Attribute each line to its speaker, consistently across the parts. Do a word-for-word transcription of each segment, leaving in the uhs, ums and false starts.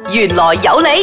Speaker 1: 原來有你。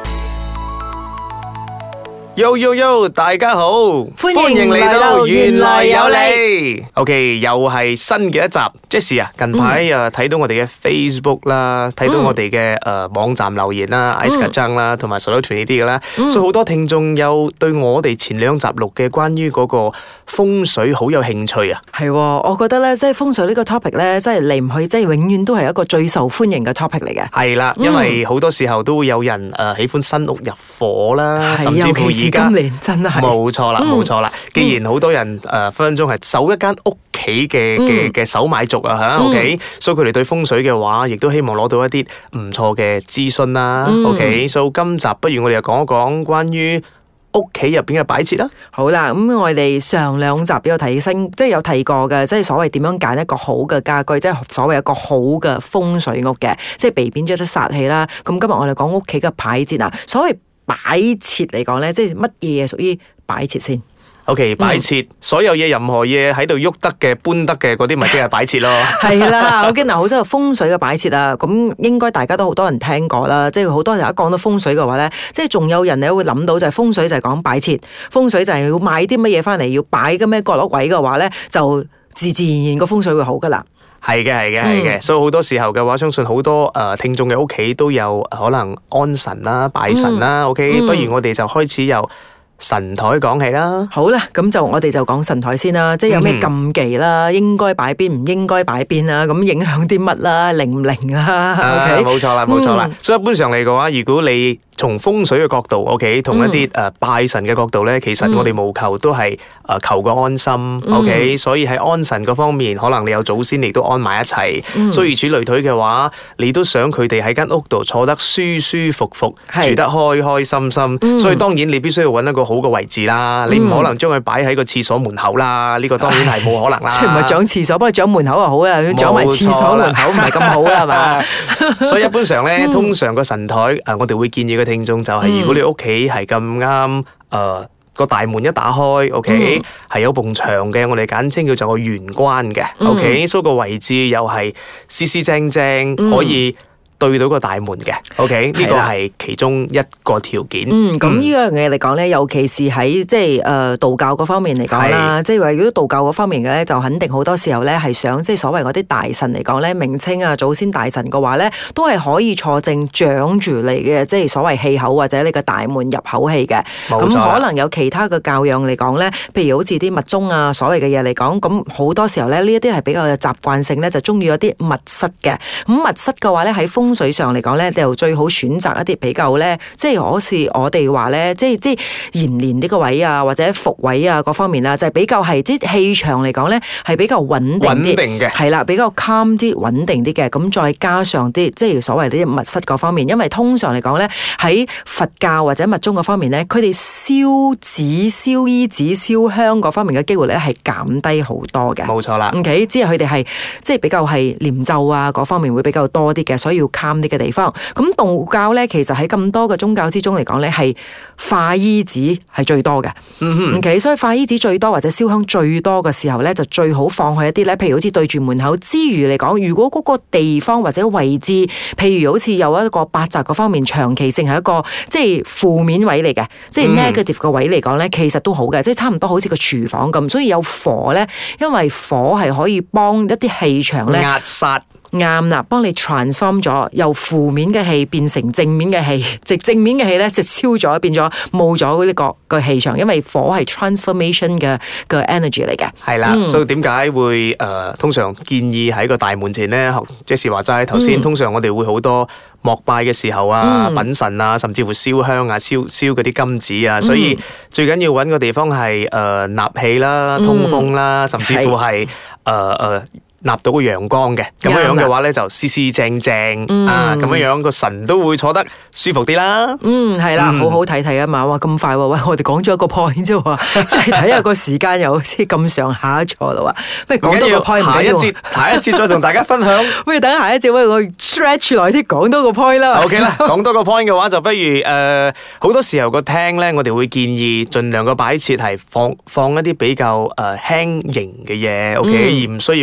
Speaker 2: Yo yo yo，大家好，
Speaker 3: 歡迎嚟到原來有你。
Speaker 2: OK，又係新嘅一集。Jessie 啊，近排誒睇到我哋嘅 Facebook 啦，睇到我哋嘅誒網站留言啦 ，Ice 張啦，同埋 Solution 呢啲嘅啦，所以好多聽眾有對我哋前兩集錄嘅關於嗰個風水好有興趣啊。
Speaker 3: 係，我覺得咧，即係風水呢個 topic 咧，即係離唔去，即係永遠都係一個最受歡迎嘅 topic 嚟嘅。
Speaker 2: 係啦，因為好多時候都會有人誒喜歡新屋入伙啦，甚至乎而家
Speaker 3: 今年真係
Speaker 2: 冇錯啦，冇錯啦。既然好多人誒分分鐘係守一間屋企嘅嘅嘅首買族啊嚇 ，OK，所以佢哋對風水嘅話，亦都希望攞到一啲唔錯嘅資訊啦。OK，所以今集不如我哋又講一講關於屋企入邊嘅擺設啦。
Speaker 3: 好啦，咁我哋上兩集有提升，即係有提過嘅，即係所謂點樣揀一個好嘅家居，即係所謂一個好嘅風水屋嘅，即係避免咗啲煞氣啦。咁今日我哋講屋企嘅擺設啊，所謂擺設嚟講咧，即係乜嘢屬於擺設先
Speaker 2: ？OK， 擺設、嗯、所有嘢，任何嘢喺度喐得嘅、搬得嘅嗰啲，咪即係擺設咯。
Speaker 3: 係啦，我見嗱好多風水嘅擺設啊，咁應該大家都好多人聽過啦。即係好多人一講到風水嘅話咧，即係仲有人咧會諗到就係風水就係講擺設，風水就係要買啲乜嘢翻嚟要擺嘅咩角落位嘅話咧，就自自然然個風水會好噶啦。
Speaker 2: 係嘅，係嘅，係嘅，所以好多時候嘅話，相信好多誒、呃、聽眾嘅屋企都有可能安神啦、拜神啦。嗯、OK，、嗯、不如我哋就開始由神台講起啦。
Speaker 3: 好啦，咁就我哋就講神台先啦，即係有咩禁忌啦，嗯、應該擺邊，唔應該擺邊啦，咁影響啲乜啦，靈唔靈啦 ？OK，
Speaker 2: 冇錯啦，冇錯啦。嗯、所以一般上嚟嘅話，如果你從風水嘅角度 ，OK， 同一啲誒、呃、拜神嘅角度咧，其實我哋務求都係誒、呃、求個安心、嗯、，OK。所以喺安神嗰方面，可能你有祖先你都安埋一齊，嗯、所以如此類推嘅話，你都想佢哋喺間屋度坐得舒舒服服，是住得開開心心。嗯、所以當然你必須要揾一個好嘅位置啦，嗯、你唔可能將佢擺喺個廁所門口啦，呢、這個當然係冇可能啦。
Speaker 3: 即係唔係長廁所，不過長門口就好啊，長埋廁所門口唔係咁好啦，係嘛？
Speaker 2: 所以一般上咧，嗯、通常個神台誒、呃，我哋會建議個聽眾就係、是，如果你屋企係咁啱誒個大門一打開 ，OK，係、嗯、有埲牆嘅，我哋簡稱叫做個玄關嘅 ，OK，、嗯、所以個位置又係四四正正，嗯、可以對到個大門嘅 ，OK， 呢個係其中一個條件。
Speaker 3: 嗯，咁呢樣嘢嚟講咧，尤其是喺即係誒道教嗰方面嚟講啦，即係話如果道教嗰方面嘅咧，就肯定好多時候咧係想即係所謂嗰啲大神嚟講咧，名稱啊祖先大神嘅話咧，都係可以坐正掌住你嘅，即係所謂氣口或者你嘅大門入口器嘅。咁可能有其他嘅教養嚟講咧，譬如好似啲密宗啊，所謂嘅嘢嚟講，咁好多時候咧呢一啲係比較有習慣性咧，就中意有啲密室嘅。咁密室嘅話咧喺風風水上嚟講咧，就最好選擇一啲比較咧，即係好似我哋話咧，即係即係延年呢個位啊，或者伏位啊，各方面啊，就係比較係即係氣場嚟講咧，係比較穩定啲，穩定嘅係啦，比較 calm 啲、穩定啲嘅。咁再加上啲即係所謂啲密室嗰方面，因為通常嚟講咧，喺佛教或者密宗嗰方面咧，佢哋燒紙、燒衣紙、燒香嗰方面嘅機會咧係減低好多嘅。
Speaker 2: 冇錯啦。
Speaker 3: OK， 即係佢哋係即係比較係念咒啊嗰方面會比較多啲嘅，所以要 calm 啲嘅地方。咁道教咧，其實喺咁多嘅宗教之中嚟講咧，係化衣紙係最多嘅。嗯哼。OK，所以化衣紙最多或者燒香最多嘅時候咧，就最好放去一啲咧，譬如好似對住門口之餘嚟講，如果嗰個地方或者位置，譬如好似有一個八宅嗰方面，長期性係一個即係負面位嚟嘅，即係 negative 嘅位嚟講咧，其實都好嘅，即係差唔多好似個廚房咁，所以有火咧，因為火係可以幫一啲氣場咧
Speaker 2: 壓殺。
Speaker 3: 啱啦，幫你 transform 咗，由負面嘅氣變成正面嘅氣，即正面嘅氣咧就消咗，變咗冇咗呢個個氣場，因為火係 transformation 嘅嘅 energy 嚟嘅。係
Speaker 2: 啦，嗯、所以點解會誒、呃、通常建議喺個大門前咧？即是話齋頭先，嗯、通常我哋會好多膜拜嘅時候啊、嗯、品神啊，甚至乎燒香啊、燒燒嗰啲金紙啊，所以最緊要揾個地方係誒納氣啦、通風啦，嗯、甚至乎係誒誒。呃呃納到個陽光嘅，咁樣樣嘅話咧就四四正正、嗯、啊，咁樣樣個神都會坐得舒服啲啦。
Speaker 3: 嗯，係啦，嗯、好好睇睇啊嘛，哇咁快喎！喂，我哋講咗一個 point 啫喎，即係睇下個時間又好似咁上下咗啦喎。不如講多個 point，
Speaker 2: 下一節下一節再同大家分享。
Speaker 3: 不如等下一節，喂我 stretch 耐啲，講多個 point 啦。
Speaker 2: OK 啦，講多個 point 嘅話就不如誒，好、呃、多時候個廳咧，我哋會建議盡量個擺設係放放一啲比較誒輕型嘅嘢，OK，、嗯、而唔需要嗰啲十分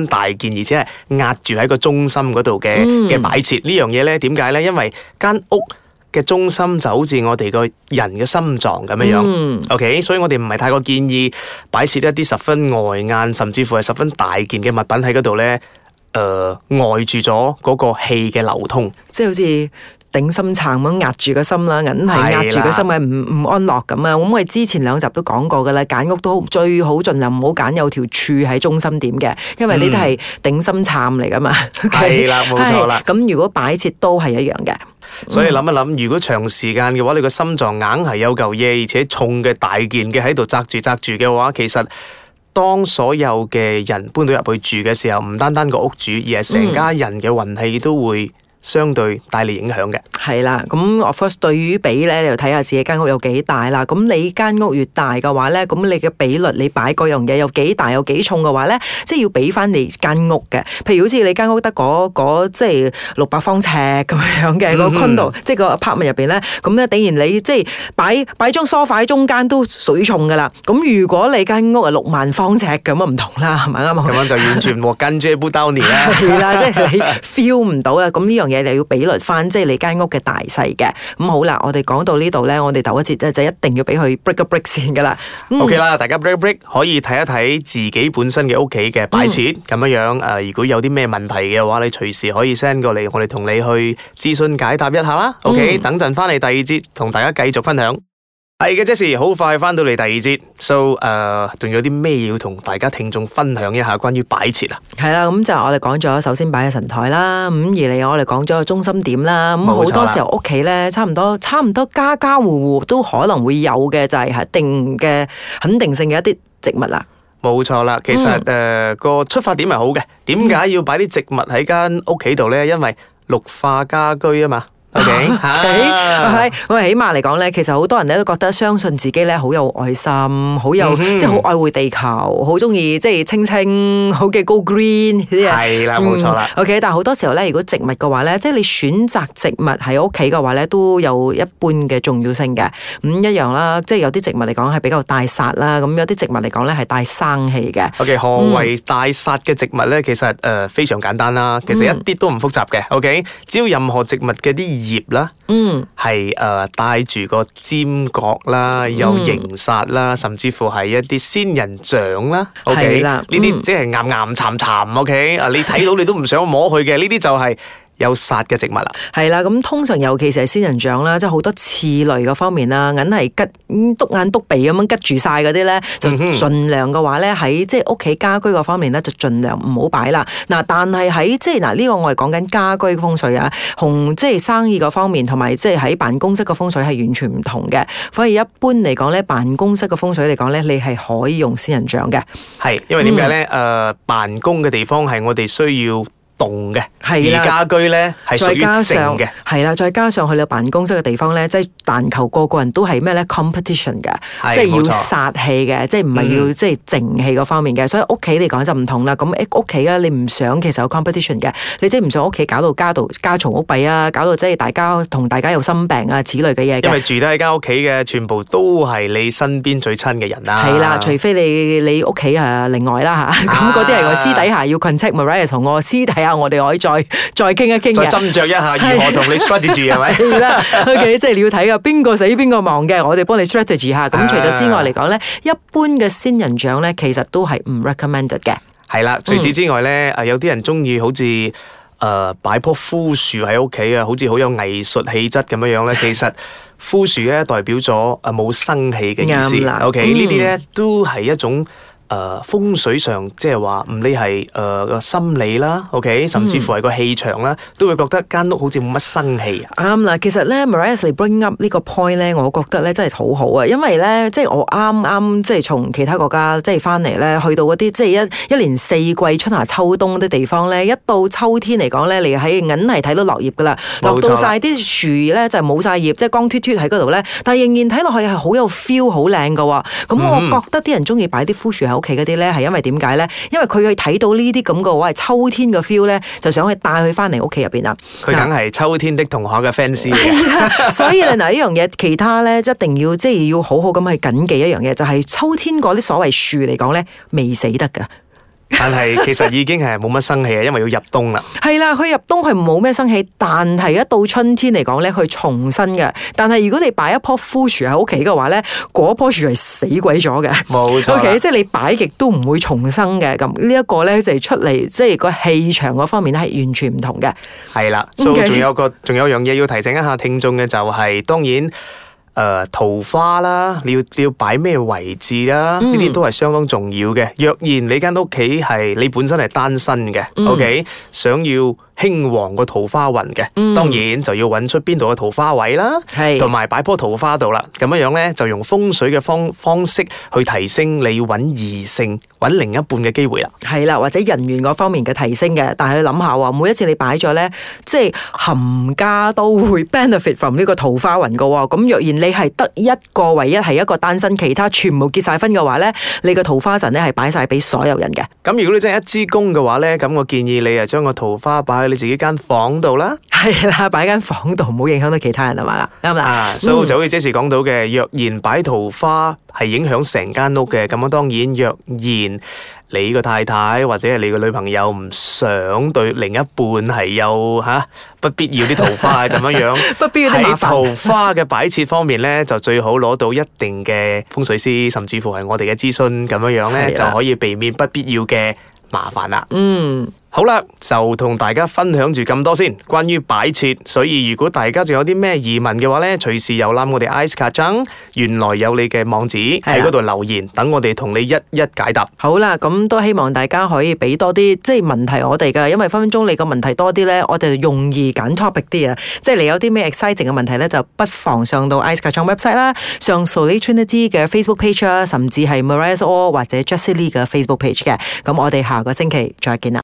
Speaker 2: 分大件，而且係壓住喺個中心嗰度嘅嘅擺設。呢樣嘢咧點解咧？因為間屋嘅中心就好似我哋個人嘅心臟咁樣樣、嗯、，OK， 所以我哋唔係太過建議擺設一啲十分礙眼，甚至乎係十分大件嘅物品喺嗰度咧，誒、呃，礙住咗嗰個氣嘅流通，
Speaker 3: 即係好似頂心杉咁壓住個心啦，硬係壓住個心嘅唔唔安樂咁啊！咁我哋之前兩集都講過噶啦，揀屋都最好盡量唔好揀有條柱喺中心點嘅，因為呢啲係頂心杉嚟噶嘛。
Speaker 2: 係啦、嗯，冇錯啦。
Speaker 3: 咁如果擺設都係一樣嘅。
Speaker 2: 所以諗一諗，如果長時間嘅話，你個心臟硬係有嚿嘢，而且重嘅大件嘅喺度紮住紮住嘅話，其實當所有嘅人搬到入去住嘅時候，唔單單個屋主，而係成家人嘅運氣都會相對帶嚟影響嘅。
Speaker 3: 係啦，咁 of course 對於比咧，你就睇下自己間屋有幾大啦。咁你間屋越大嘅話咧，咁你嘅比率，你擺嗰樣嘢有幾大有幾重嘅話咧，即係要俾翻你間屋嘅。譬如好似你間屋得嗰嗰即係六百方尺咁樣嘅個 condo，即係個 apartment 入邊咧，咁咧當然你即係擺擺張梳化喺中間都水重噶啦。咁如果你間屋係六萬方尺咁啊唔同啦，係咪啱啊？
Speaker 2: 咁樣就完全和跟住布兜尼啦。
Speaker 3: 係啦，即係你 feel 唔到啦。咁呢樣嘢你要比率翻，即係你間屋嘅大細嘅。咁好啦，我哋講到呢度咧，我哋頭一節咧就一定要俾佢 break 一 break 先噶啦。
Speaker 2: 嗯、OK 啦，大家 break 一 break 可以睇一睇自己本身嘅屋企嘅擺設咁樣樣。誒、呃，如果有啲咩問題嘅話，你隨時可以 send 過嚟，我哋同你去諮詢解答一下啦。OK，、嗯、等陣翻嚟第二節同大家繼續分享。係嘅，Jessie，好快翻到嚟第二節 ，so 誒、uh, 仲有啲咩要同大家聽眾分享一下關於擺設啊？
Speaker 3: 係啦，咁就我哋講咗，首先擺喺神台啦，咁而嚟我哋講咗個中心點啦，咁好多時候屋企咧，差唔多差唔多家家戶戶都可能會有嘅，就係、是、一定嘅肯定性嘅一啲植物啦。
Speaker 2: 冇錯啦，其實誒、嗯呃、個出發點係好嘅，點解要擺啲植物喺間屋企度咧？因為綠化家居啊嘛。O K， 係，
Speaker 3: 我哋起碼嚟講咧，其實好多人咧都覺得相信自己咧好有愛心，好有、嗯、即係好愛護地球，好中意即係青青，好嘅 go green 呢啲嘢。
Speaker 2: 係啦，冇錯啦。
Speaker 3: O K， 但係好多時候咧，如果植物嘅話咧，即係你選擇植物喺屋企嘅話咧，都有一般嘅重要性嘅。咁、嗯、一樣啦，即係有啲植物嚟講係比較帶煞啦，咁有啲植物嚟講咧係帶生氣嘅。
Speaker 2: O K， 何謂帶煞嘅植物咧？其實誒、呃、非常簡單啦，其實一啲都唔複雜嘅。O K， 只要任何植物嘅啲葉啦，嗯，係誒帶住個尖角啦，有形煞啦，嗯、甚至乎係一啲仙人掌啦，OK，呢啲即係岩岩巉巉，OK，啊，你睇到你都唔想摸佢嘅，呢啲就係有煞嘅植物啦，
Speaker 3: 係啦，咁通常尤其是係仙人掌啦，即係好多刺類嗰方面啦，硬係吉篤眼篤鼻咁樣吉住晒嗰啲咧，就盡量嘅話咧喺即係屋企家居嗰方面咧，就盡量唔好擺啦。嗱，但係喺即係嗱呢個我係講緊家居風水啊，同即係生意嗰方面同埋即係喺辦公室嘅風水係完全唔同嘅。所以一般嚟講咧，辦公室嘅風水嚟講咧，你係可以用仙人掌嘅。
Speaker 2: 係，因為點解咧？誒、嗯呃，辦公嘅地方係我哋需要動嘅，而家居咧係屬於靜嘅，
Speaker 3: 係啦，再加上去到辦公室嘅地方咧，即係但求個個人都係咩咧 competition 嘅，即係要殺氣嘅，即係唔係要即係靜氣嗰方面嘅。所以屋企嚟講就唔同啦。咁屋企咧，你唔想其實有 competition 嘅，你即係唔想屋企搞到家道家嘈屋閉啊，搞到即係大家同大家有心病啊，此類嘅嘢。
Speaker 2: 因為住得喺間屋企嘅，全部都係你身邊最親嘅人啦。
Speaker 3: 係啦，除非你你屋企係另外啦嚇，咁嗰啲係我私底下要 contact Maria 同我私底下。我哋可以再再傾一傾嘅，
Speaker 2: 再斟酌一下如何同你 strategy 係咪？
Speaker 3: 係啦，OK， 即係你要睇噶，邊個死邊個亡嘅，我哋幫你 strategy 下。咁除咗之外嚟講咧，一般嘅仙人掌咧，其實都係唔 recommended 嘅。
Speaker 2: 係啦，除此之外咧，誒有啲人中意好似誒擺棵枯樹喺屋企啊，好似好有藝術氣質咁樣樣咧。其實枯樹咧代表咗誒冇生氣嘅意思。OK，嗯、呢啲咧都係一種。誒、呃、風水上即係話唔理係誒個心理啦 ，OK， 甚至乎係個氣場啦，嗯、都會覺得間屋好似冇乜生氣。啱
Speaker 3: 啦，其實咧 Maria 嚟 bring up 呢個 point 咧，我覺得咧真係好好啊，因為咧即係我啱啱即係從其他國家即係翻嚟咧，去到嗰啲即係一一年四季春夏秋冬啲地方咧，一到秋天嚟講咧，你喺硬係睇到落葉噶啦，落到晒啲樹咧就冇晒葉，即係光脫脫喺嗰度咧，但係仍然睇落去係好有 feel， 好靚噶。咁我覺得啲人中意擺啲枯樹喺屋企嗰啲咧，係因為點解咧？因為佢去睇到呢啲咁嘅話，係秋天嘅 feel 咧，就想去帶佢翻嚟屋企入邊啦。
Speaker 2: 佢梗係秋天的同學嘅 fans
Speaker 3: 所以咧嗱，呢樣嘢其他咧一定要即係要好好咁去謹記一樣嘢，就係、是、秋天嗰啲所謂樹嚟講咧，未死得噶。
Speaker 2: 但係其實已經係冇乜生氣啊，因為要入冬啦。
Speaker 3: 係啦，佢入冬係冇咩生氣，但係一到春天嚟講咧，佢重生嘅。但係如果你擺一棵枯樹喺屋企嘅話咧，嗰棵樹係死鬼咗嘅。
Speaker 2: 冇錯啦。
Speaker 3: OK，即係你擺極都唔會重生嘅。咁呢一個咧就係出嚟，即係個氣場嗰方面咧係完全唔同嘅。
Speaker 2: 係啦，所以仲有個仲有樣嘢要提醒一下聽眾嘅就係、是，當然。誒、呃、桃花啦，你要你要擺咩位置啦？呢啲、嗯、都係相當重要嘅。若然你間屋企係你本身係單身嘅、嗯、，OK， 想要興旺個桃花運嘅，嗯、當然就要揾出邊度嘅桃花位啦，同埋擺棵桃花度啦。咁樣樣咧，就用風水嘅方方式去提升你揾異性、揾另一半嘅機會啦。係啦，或者人緣嗰方面嘅提升嘅。但係你諗下喎，每一次你擺咗咧，即係冚家都會 benefit from 呢個桃花運嘅喎。咁若然你係得一個唯一係一個單身，其他全部結晒婚嘅話咧，你個桃花陣咧係擺晒俾所有人嘅。咁如果你真係一支公嘅話咧，咁我建議你啊將個桃花擺喺你自己間房度啦。係啦，擺間房度唔好影響到其他人啊嘛，啱啦。啊，所以就好似 Jessie 講到嘅，若然擺桃花係影響成間屋嘅，咁樣當然若然你個太太或者係你個女朋友唔想對另一半係有吓、啊、不必要啲桃花咁樣樣，不必要啲麻煩。喺桃花嘅擺設方面咧，就最好攞到一定嘅風水師，甚至乎係我哋嘅諮詢咁樣樣咧，就可以避免不必要嘅麻煩啦。嗯。好啦，就同大家分享住咁多先，關於擺設。所以如果大家仲有啲咩疑問嘅話咧，隨時遊覽我哋 Ais Kacang，原來有你嘅網址喺嗰度留言，等我哋同你一一解答。好啦，咁都希望大家可以俾多啲即係問題我哋噶，因為分分鐘你個問題多啲咧，我哋就容易揀 topic 啲啊。即係你有啲咩 exciting 嘅問題咧，就不妨上到 Ais Kacang website 啦，上 Solid Trinity 嘅 Facebook page 啦，甚至係 Mariah Or 或者 Jessie Lee 嘅 Facebook page 嘅。咁我哋下個星期再見啦。